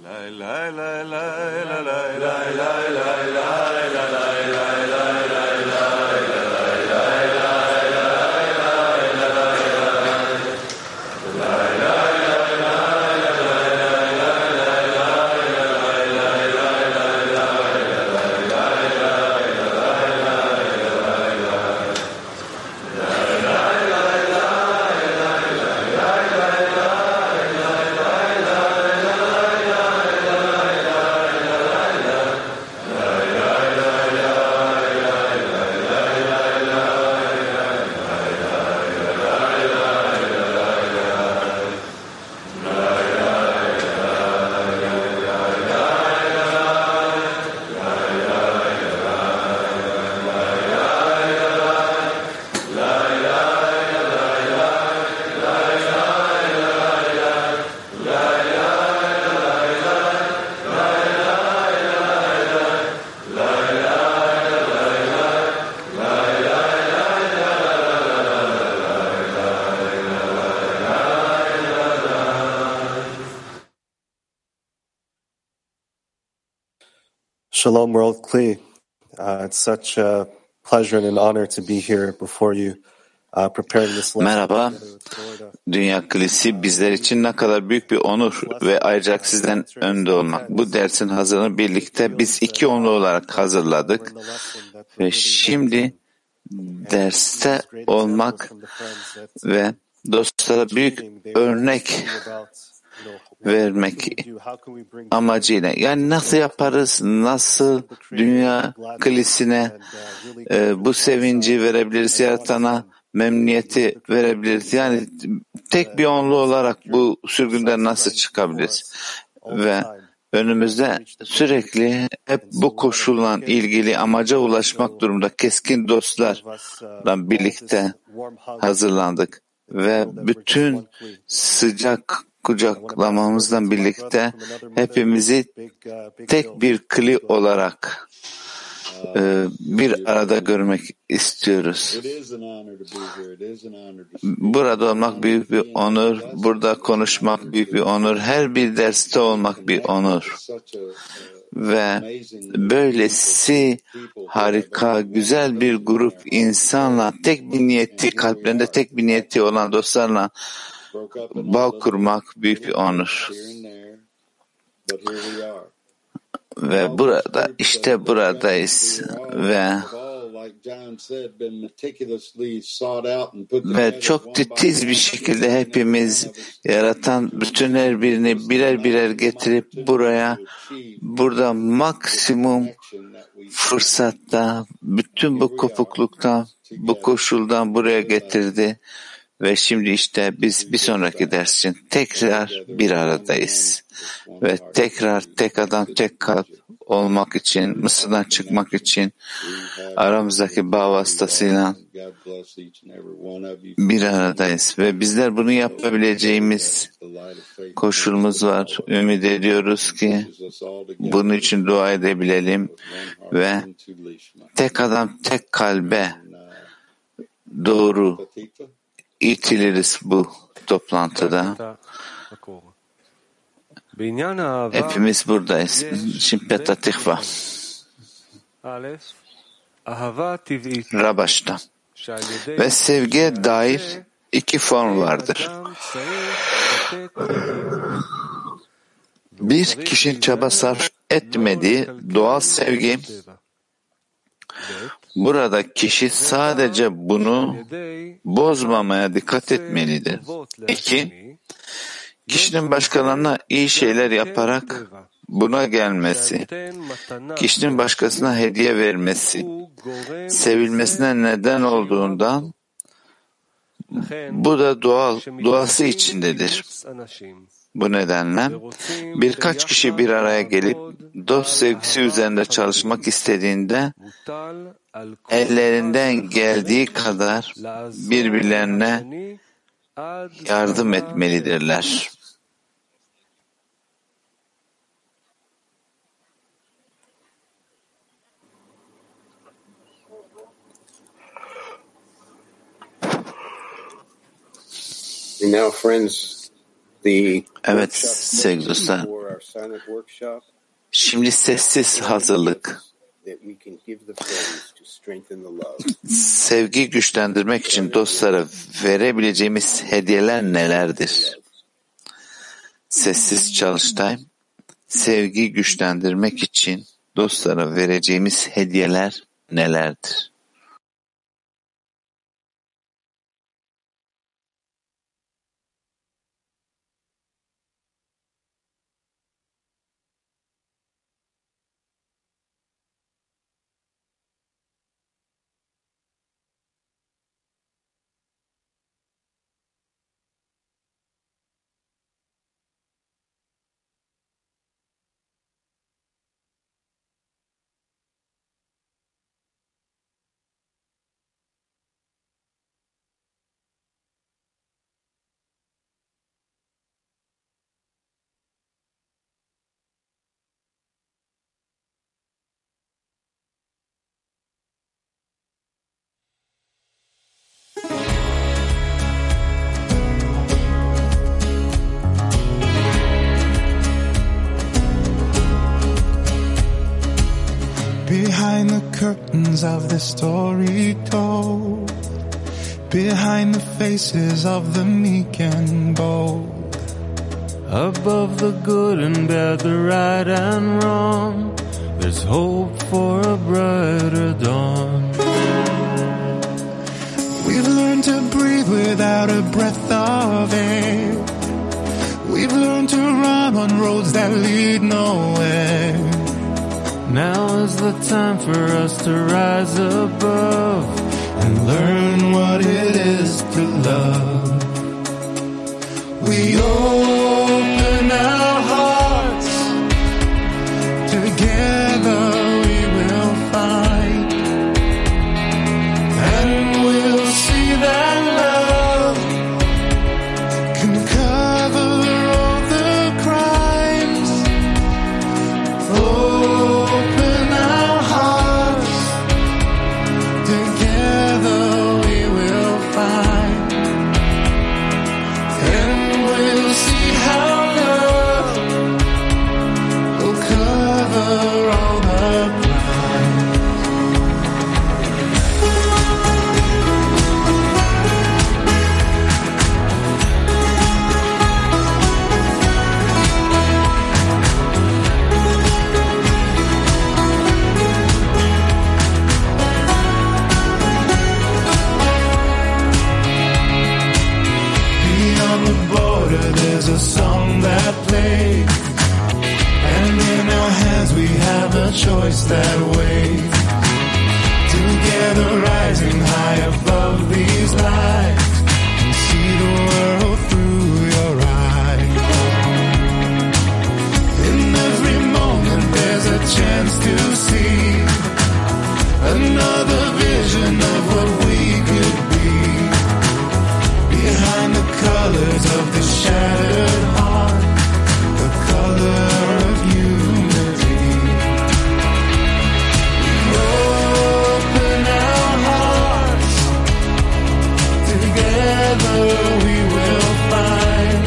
Shalom, World Kli. It's such a pleasure and an honor to be here before you, preparing this lesson. Merhaba, Dünya Kilisi bizler için ne kadar büyük bir onur ve ayrıca sizden önde olmak. Bu dersin hazırlığını birlikte biz iki onlu olarak hazırladık ve şimdi derste olmak ve dostlara büyük örnek vermek amacıyla. Yani nasıl yaparız, nasıl Dünya Kilisine bu sevinci verebiliriz, yaratana memnuniyeti verebiliriz. Yani tek bir onlu olarak bu sürgünden nasıl çıkabiliriz? Ve önümüzde sürekli hep bu koşulla ilgili amaca ulaşmak durumunda keskin dostlarla birlikte hazırlandık. Ve bütün sıcak kucaklamamızla birlikte hepimizi tek bir kli olarak bir arada görmek istiyoruz. Burada olmak büyük bir onur, burada konuşmak büyük bir onur, her bir derste olmak bir onur. Ve böylesi harika, güzel bir grup insanla, tek bir niyeti, kalplerinde tek bir niyeti olan dostlarla bağ kurmak büyük bir onur. Ve burada, işte buradayız ve çok titiz bir şekilde hepimiz yaratan bütün her birini birer birer getirip burada maksimum fırsatta, bütün bu kopukluktan, bu koşuldan buraya getirdi. Ve şimdi işte biz bir sonraki ders için tekrar bir aradayız. Ve tekrar tek adam, tek kalp olmak için, Mısır'dan çıkmak için aramızdaki bağ vasıtasıyla bir aradayız. Ve bizler bunu yapabileceğimiz koşulumuz var. Ümit ediyoruz ki bunun için dua edebilelim ve tek adam, tek kalbe doğru itiliriz bu toplantıda. Hepimiz buradayız. Şimdi Petah Tikva. Rabaş'ta. Ve sevgiye dair iki form vardır. Bir, kişinin çaba sarf etmediği doğal sevgi. Burada kişi sadece bunu bozmamaya dikkat etmelidir. İki, kişinin başkalarına iyi şeyler yaparak buna gelmesi, kişinin başkasına hediye vermesi, sevilmesine neden olduğundan bu da doğası içindedir. Bu nedenle birkaç kişi bir araya gelip dost sevgisi üzerinde çalışmak istediğinde ellerinden geldiği kadar birbirlerine yardım etmelidirler. Now, friends, Evet sevgili dostlar. Şimdi sessiz hazırlık. Sevgi güçlendirmek için dostlara verebileceğimiz hediyeler nelerdir? Sessiz çalıştay. Sevgi güçlendirmek için dostlara vereceğimiz hediyeler nelerdir? Behind the curtains of the story told, behind the faces of the meek and bold, above the good and bad, the right and wrong, there's hope for a brighter dawn. We've learned to breathe without a breath of air. We've learned to run on roads that lead nowhere. Now is the time for us to rise above and learn what it is to love. We open our hearts, together we will find, and we'll see that love can cover all the crimes. Open our hearts, together we will find, and we'll see how love will cover all the crimes. Beyond the border there's a song that plays, and in our hands we have a choice that waits. Together rising high above these lights, and see the world through your eyes. In every moment there's a chance to see another vision of what we could be. Behind the colors of the shattered heart, the color of unity. Open our hearts, together we will find,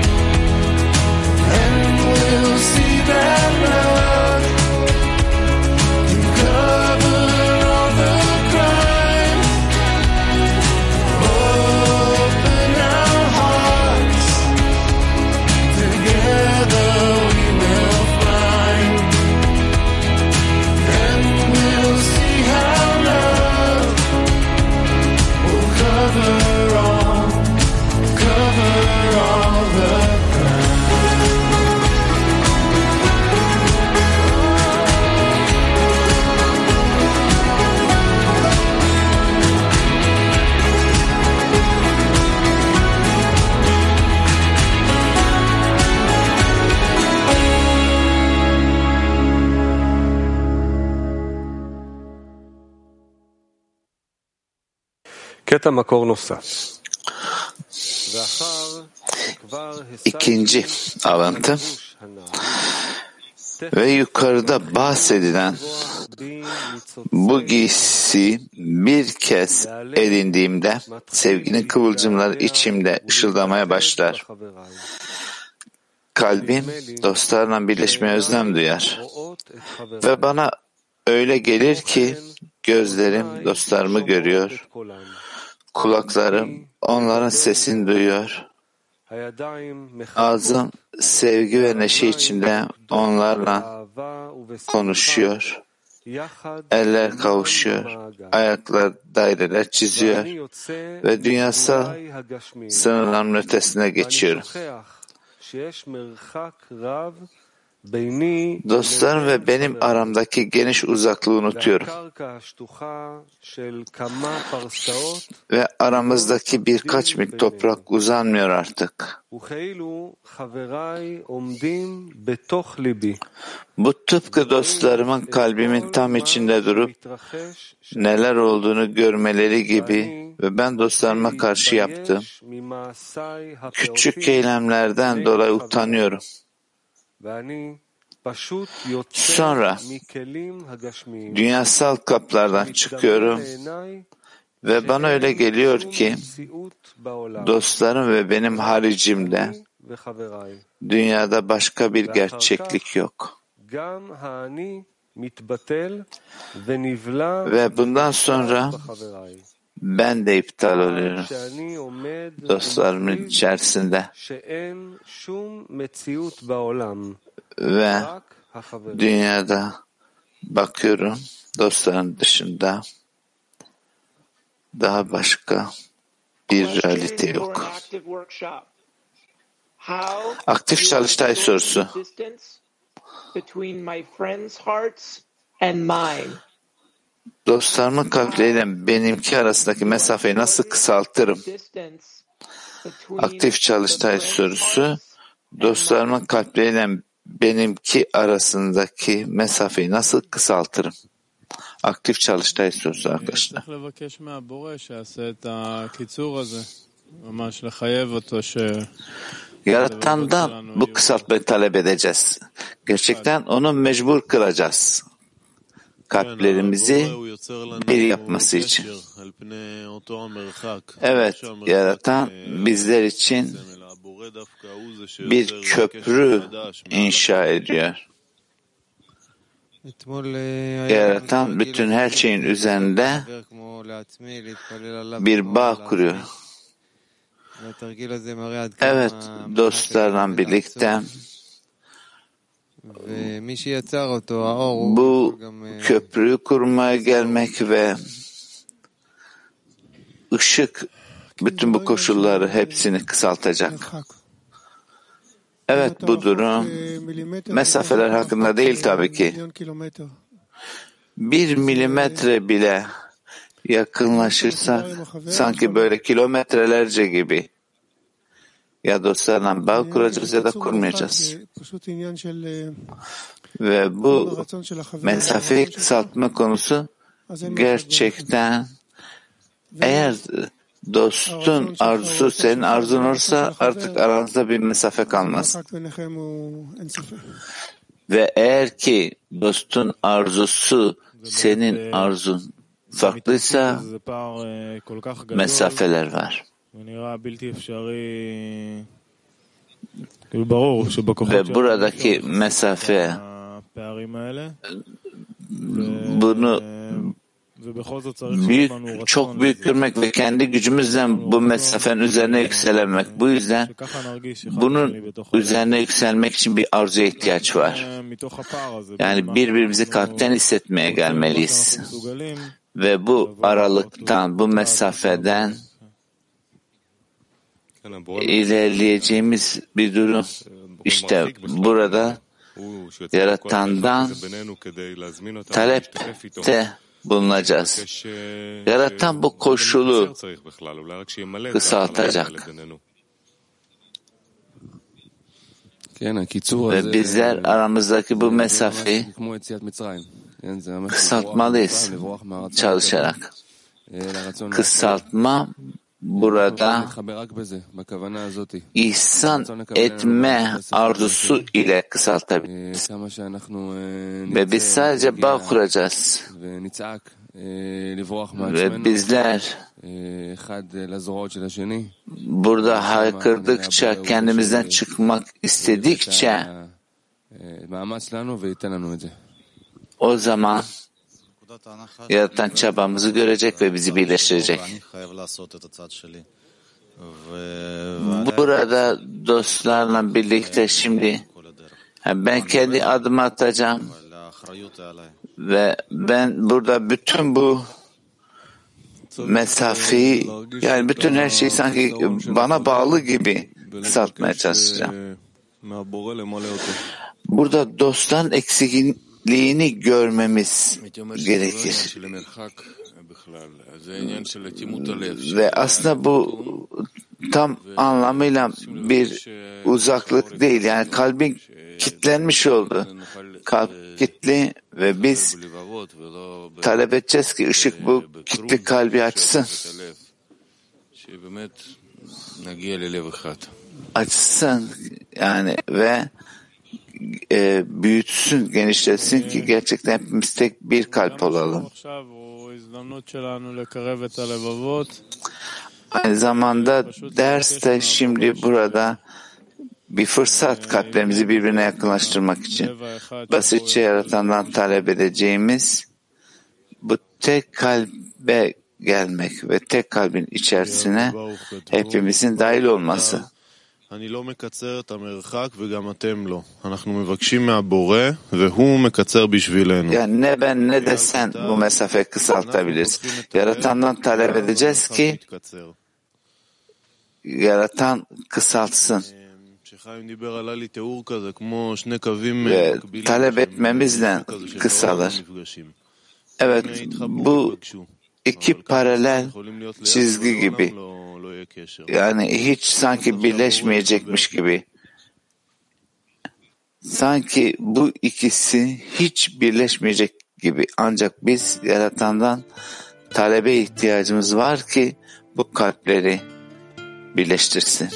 and we'll see that love can cover all the crimes. Open our hearts, together we will find, and we'll see how love will cover all the crimes. קטע מקור נוסף. İkinci alıntı ve yukarıda bahsedilen bu giysi bir kez edindiğimde sevginin kıvılcımları içimde ışıldamaya başlar. kalbim dostlarla birleşmeye özlem duyar. Ve bana öyle gelir ki gözlerim dostlarımı görüyor, kulaklarım onların sesini duyuyor, ağzım sevgi ve neşe içinde onlarla konuşuyor, eller kavuşuyor, ayaklar daireler çiziyor ve dünyasal sınırların ötesine geçiyorum. Dostlarım ve benim aramdaki geniş uzaklığı unutuyorum. Ve aramızdaki birkaç mil toprak uzanmıyor artık. Bu tıpkı dostlarımın kalbimin tam içinde durup neler olduğunu görmeleri gibi ve ben dostlarıma karşı yaptığım küçük eylemlerden dolayı utanıyorum. Sonra dünyasal kaplardan çıkıyorum ve bana öyle geliyor ki dostlarım ve benim haricimde dünyada başka bir gerçeklik yok. Ve bundan sonra ben de iptal oluyorum dostlarımın içerisinde. Ve dünyada bakıyorum dostların dışında daha başka bir realite yok. Aktif çalıştay sorusu. Dostlarımın kalpleriyle benimki arasındaki mesafeyi nasıl kısaltırım? Aktif çalıştay sorusu. Dostlarımın kalpleriyle benimki arasındaki mesafeyi nasıl kısaltırım? Aktif çalıştay sorusu arkadaşlar. Yaratan'dan bu kısaltmayı talep edeceğiz. Gerçekten onu mecbur kılacağız. Kalplerimizi bir yapması için. Evet, Yaratan bizler için bir köprü inşa ediyor. Yaratan bütün her şeyin üzerinde bir bağ kuruyor. Evet, dostlarla birlikte bu köprüyü kurmaya gelmek ve ışık bütün bu koşulları hepsini kısaltacak. Evet, bu durum mesafeler hakkında değil tabii ki. 1 milimetre bile yakınlaşırsak sanki böyle kilometrelerce gibi ya dostlarla bağ kuracağız ya da kurmayacağız. Ve bu mesafeyi kısaltma konusu gerçekten eğer dostun arzusu senin arzun olursa artık aranızda bir mesafe kalmaz. Ve eğer ki dostun arzusu senin arzun farklıysa mesafeler var. Ve buradaki mesafe bunu çok büyük görmek ve kendi gücümüzle bu mesafenin üzerine yükselemek. Bu yüzden bunun üzerine yükselmek için bir arzuya ihtiyaç var. Yani birbirimizi kalpten hissetmeye gelmeliyiz. Ve bu aralıktan, bu mesafeden ilerleyeceğimiz bir durum. İşte burada Yaratan'dan talepte bulunacağız. Yaratan bu koşulu kısaltacak. Ve bizler aramızdaki bu mesafeyi kısaltmalıyız çalışarak. Kısaltma burada ihsan etme arzusu ile kısaltabiliriz. Ve biz sadece bağ kuracağız. Ve bizler burada haykırdıkça, kendimizden çıkmak istedikçe o zaman Yaratan çabamızı görecek ve bizi birleştirecek. Burada dostlarla birlikte şimdi ben kendi adımı atacağım ve ben burada bütün bu mesafeyi, yani bütün her şeyi sanki bana bağlı gibi kısaltmaya çalışacağım. Burada dostların eksikliğini görmemiz gerekir. Ve aslında bu tam anlamıyla bir uzaklık değil. Yani kalbin kilitlenmiş oldu. Kalp kilitli ve biz talep edeceğiz ki ışık bu kilitli kalbi açsın. Açsın yani ve büyütsün, genişletsin ki gerçekten hepimiz tek bir kalp olalım. Aynı zamanda derste şimdi burada bir fırsat kalplerimizi birbirine yakınlaştırmak için. Basitçe Yaratan'dan talep edeceğimiz bu tek kalbe gelmek ve tek kalbin içerisine hepimizin dahil olması. אני לא מקצר את המרחק וגם אתם לא. אנחנו מבקשים מהבורא והוא מקצר בשבילנו. Yani ne ben ne de sen bu mesafeyi kısaltabiliriz. Yaratan'dan talep edeceğiz ki Yaratan kısaltsın. Ve talep etmemizle kısalır. Evet, bu iki paralel çizgi gibi. Yani hiç sanki birleşmeyecekmiş gibi. Sanki bu ikisi hiç birleşmeyecek gibi. Ancak biz Yaratan'dan talebe ihtiyacımız var ki bu kalpleri birleştirsin.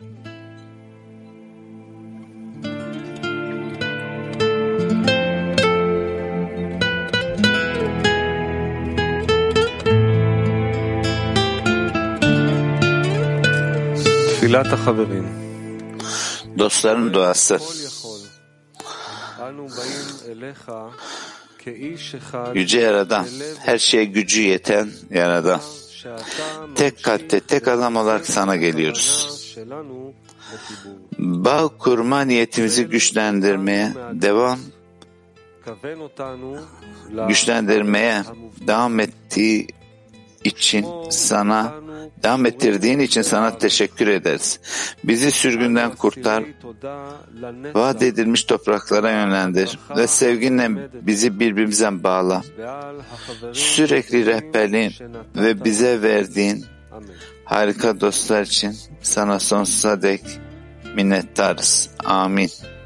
Dostların duası. Yüce Yaradan, her şeye gücü yeten Yaradan. Tek kalpte, tek adam olarak sana geliyoruz. Bağ kurma niyetimizi güçlendirmeye devam ettiği için sana, devam ettirdiğin için sana teşekkür ederiz. Bizi sürgünden kurtar, vaat edilmiş topraklara yönlendir ve sevginle bizi birbirimizden bağla. Sürekli rehberliğin ve bize verdiğin harika dostlar için sana sonsuza dek minnettarız. Amin.